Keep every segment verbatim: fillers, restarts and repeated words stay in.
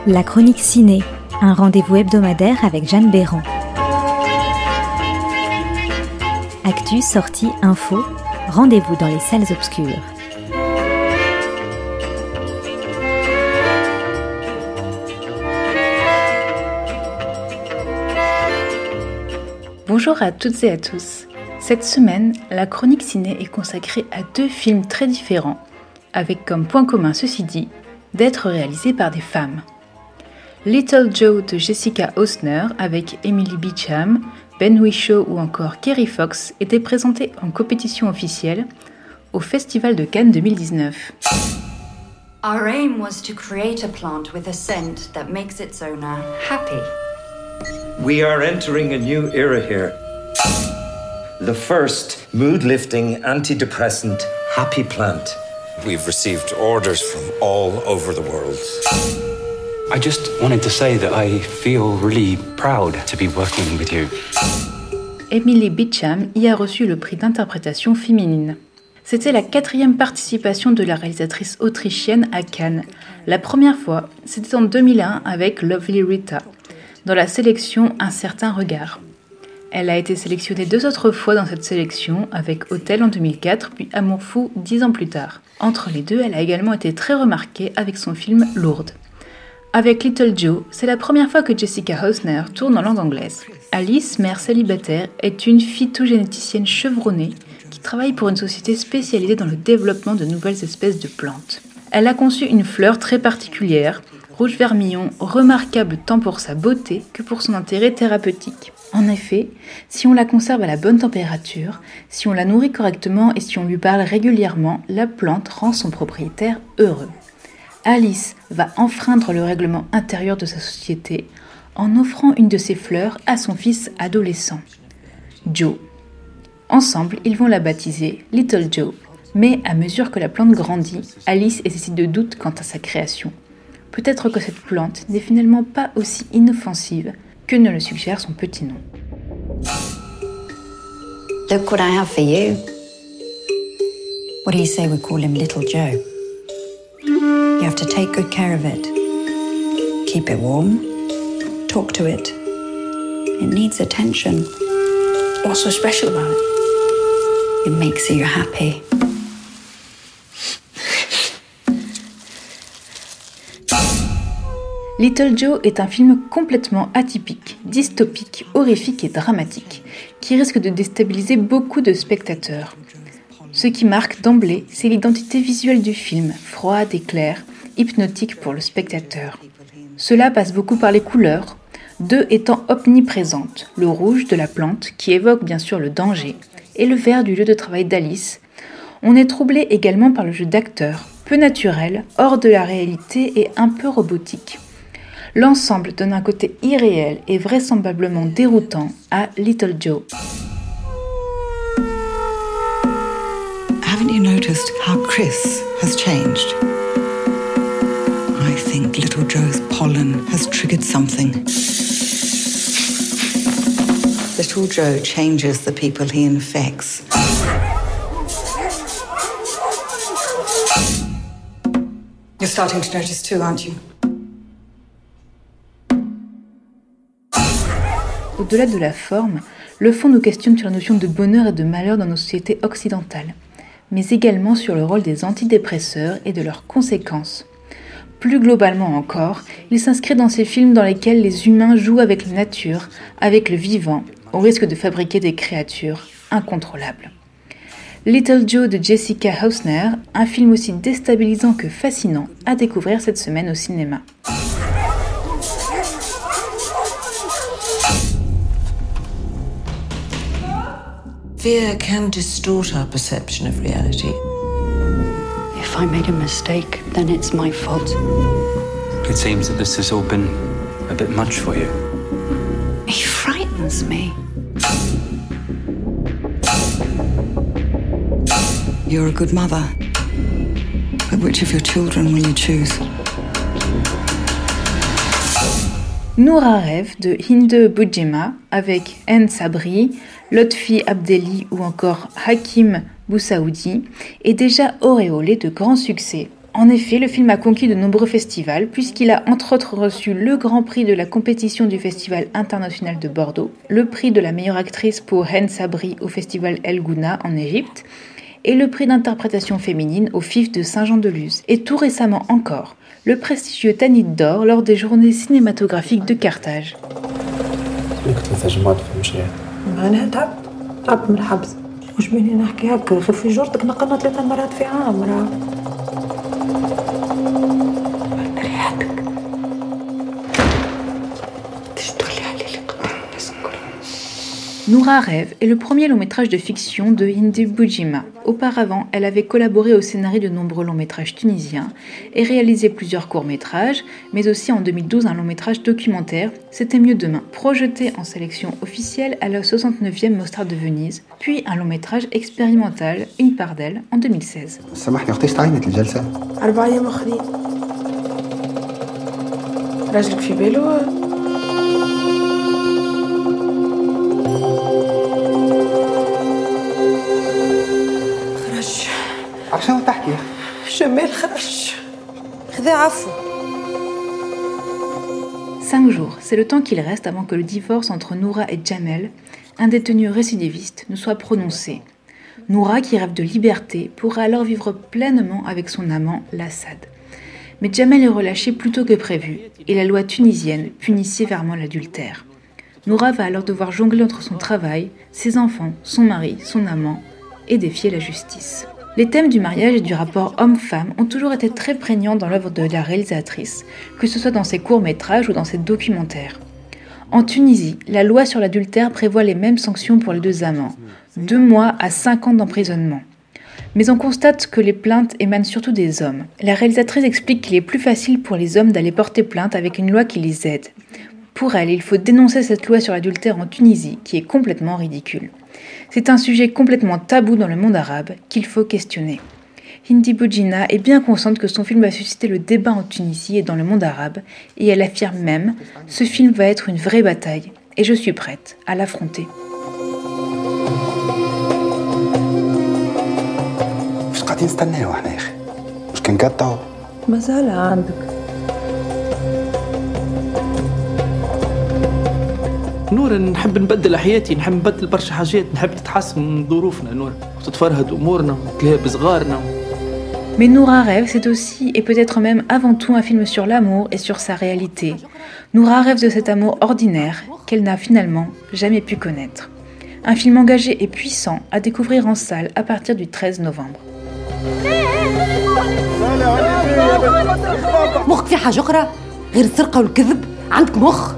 La chronique ciné, un rendez-vous hebdomadaire avec Jeanne Béran. Actu, sortie, info, rendez-vous dans les salles obscures. Bonjour à toutes et à tous. Cette semaine, la chronique ciné est consacrée à deux films très différents, avec comme point commun, ceci dit, d'être réalisés par des femmes. Little Joe de Jessica Hausner avec Emily Beecham, Ben Whishaw ou encore Kerry Fox était présenté en compétition officielle au Festival de Cannes deux mille dix-neuf. Our aim was to create a plant with a scent that makes its owner happy. We are entering a new era here. The first mood-lifting antidepressant happy plant. We've received orders from all over the world. I just wanted to say that I feel really proud to be working with you. Emily Beecham y a reçu le prix d'interprétation féminine. C'était la quatrième participation de la réalisatrice autrichienne à Cannes. La première fois, c'était en deux mille un avec Lovely Rita, dans la sélection Un certain regard. Elle a été sélectionnée deux autres fois dans cette sélection, avec Hôtel en deux mille quatre, puis Amour fou dix ans plus tard. Entre les deux, elle a également été très remarquée avec son film Lourdes. Avec Little Joe, c'est la première fois que Jessica Hausner tourne en langue anglaise. Alice, mère célibataire, est une phytogénéticienne chevronnée qui travaille pour une société spécialisée dans le développement de nouvelles espèces de plantes. Elle a conçu une fleur très particulière, rouge vermillon, remarquable tant pour sa beauté que pour son intérêt thérapeutique. En effet, si on la conserve à la bonne température, si on la nourrit correctement et si on lui parle régulièrement, la plante rend son propriétaire heureux. Alice va enfreindre le règlement intérieur de sa société en offrant une de ses fleurs à son fils adolescent, Joe. Ensemble, ils vont la baptiser Little Joe, mais à mesure que la plante grandit, Alice éprouve de doutes quant à sa création. Peut-être que cette plante n'est finalement pas aussi inoffensive que ne le suggère son petit nom. Look what I have for you. What do you say we call him Little Joe? You have to take good care of it. Keep it warm. Talk to it. It needs attention. What's so special about it? It makes you happy. Little Joe est un film complètement atypique, dystopique, horrifique et dramatique, qui risque de déstabiliser beaucoup de spectateurs. Ce qui marque d'emblée, c'est l'identité visuelle du film, froide et claire, hypnotique pour le spectateur. Cela passe beaucoup par les couleurs, deux étant omniprésentes, le rouge de la plante, qui évoque bien sûr le danger, et le vert du lieu de travail d'Alice. On est troublé également par le jeu d'acteurs, peu naturel, hors de la réalité et un peu robotique. L'ensemble donne un côté irréel et vraisemblablement déroutant à Little Joe. Haven't you noticed how Chris has changed? I think Little Joe's pollen has triggered something. Little Joe changes the people he infects. You're starting to notice too, aren't you? Au-delà de la forme, le fond nous questionne sur la notion de bonheur et de malheur dans nos sociétés occidentales, mais également sur le rôle des antidépresseurs et de leurs conséquences. Plus globalement encore, il s'inscrit dans ces films dans lesquels les humains jouent avec la nature, avec le vivant, au risque de fabriquer des créatures incontrôlables. Little Joe de Jessica Hausner, un film aussi déstabilisant que fascinant à découvrir cette semaine au cinéma. Fear can distort our perception of reality. If I made a mistake, then it's my fault. It seems that this has all been a bit much for you. He frightens me. You're a good mother. But which of your children will you choose? Noura rêve de Hinde Boujedjema avec N. Sabri, Lotfi Abdelli ou encore Hakim Boussaoudi est déjà auréolé de grands succès. En effet, le film a conquis de nombreux festivals puisqu'il a entre autres reçu le grand prix de la compétition du Festival international de Bordeaux, le prix de la meilleure actrice pour Hen Sabri au Festival El Gouna en Égypte et le prix d'interprétation féminine au F I F de Saint-Jean-de-Luz. Et tout récemment encore, le prestigieux Tanit d'Or lors des journées cinématographiques de Carthage. Noura rêve est le premier long-métrage de fiction de Hindi Boujima. Auparavant, elle avait collaboré au scénario de nombreux longs-métrages tunisiens et réalisé plusieurs courts-métrages, mais aussi en deux mille douze un long-métrage documentaire, C'était mieux demain, projeté en sélection officielle à la soixante-neuvième Mostra de Venise, puis un long-métrage expérimental, Une part d'elle, en deux mille seize. عشان تحكي جمال خرج خذا عفو. Cinq jours, c'est le temps qu'il reste avant que le divorce entre Noura et Jamel, un détenu récidiviste, ne soit prononcé. Noura, qui rêve de liberté, pourra alors vivre pleinement avec son amant, Lassad. Mais Jamel est relâché plus tôt que prévu, et la loi tunisienne punit sévèrement l'adultère. Noura va alors devoir jongler entre son travail, ses enfants, son mari, son amant, et défier la justice. Les thèmes du mariage et du rapport homme-femme ont toujours été très prégnants dans l'œuvre de la réalisatrice, que ce soit dans ses courts-métrages ou dans ses documentaires. En Tunisie, la loi sur l'adultère prévoit les mêmes sanctions pour les deux amants, deux mois à cinq ans d'emprisonnement. Mais on constate que les plaintes émanent surtout des hommes. La réalisatrice explique qu'il est plus facile pour les hommes d'aller porter plainte avec une loi qui les aide. Pour elle, il faut dénoncer cette loi sur l'adultère en Tunisie, qui est complètement ridicule. C'est un sujet complètement tabou dans le monde arabe qu'il faut questionner. Hindi Boujina est bien consciente que son film va susciter le débat en Tunisie et dans le monde arabe, et elle affirme même « Ce film va être une vraie bataille, et je suis prête à l'affronter ». نور نحب نبدل حياتي نحب نبدل برشا حاجات نحب تتحسن ظروفنا نور وتتفرهد امورنا وتلهى بصغارنا. Mais Noura rêve, c'est aussi et peut-être même avant tout un film sur l'amour et sur sa réalité. Noura rêve de cet amour ordinaire qu'elle n'a finalement jamais pu connaître. Un film engagé et puissant à découvrir en salle à partir du treize novembre. مخك في حاجة أخرى غير السرقة والكذب عندك مخ.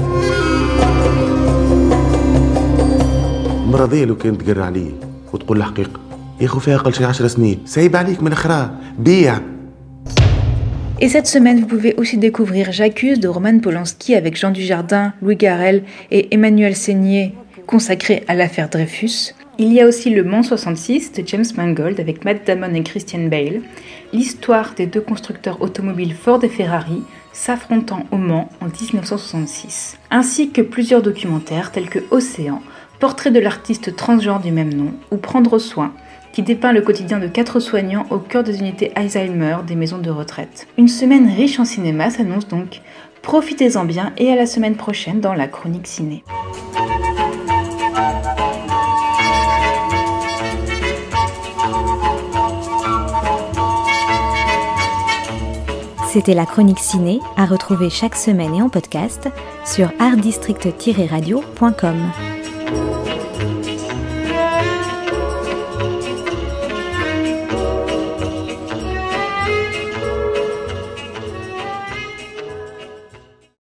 مرضية لو كانت تقرر عليه وتقول الحقيقة يا خو فيها أقل شي عشر سنين سايب عليك من الأخرى بيع. Et cette semaine, vous pouvez aussi découvrir J'accuse de Roman Polanski avec Jean Dujardin, Louis Garrel et Emmanuel Seigner, consacré à l'affaire Dreyfus. Il y a aussi Le Mans soixante-six de James Mangold avec Matt Damon et Christian Bale, l'histoire des deux constructeurs automobiles Ford et Ferrari s'affrontant au Mans en dix-neuf cent soixante-six, ainsi que plusieurs documentaires tels que Océan, portrait de l'artiste transgenre du même nom, ou Prendre soin, qui dépeint le quotidien de quatre soignants au cœur des unités Alzheimer des maisons de retraite. Une semaine riche en cinéma s'annonce donc. Profitez-en bien et à la semaine prochaine dans la Chronique Ciné. C'était la Chronique Ciné, à retrouver chaque semaine et en podcast sur art district tiret radio point com.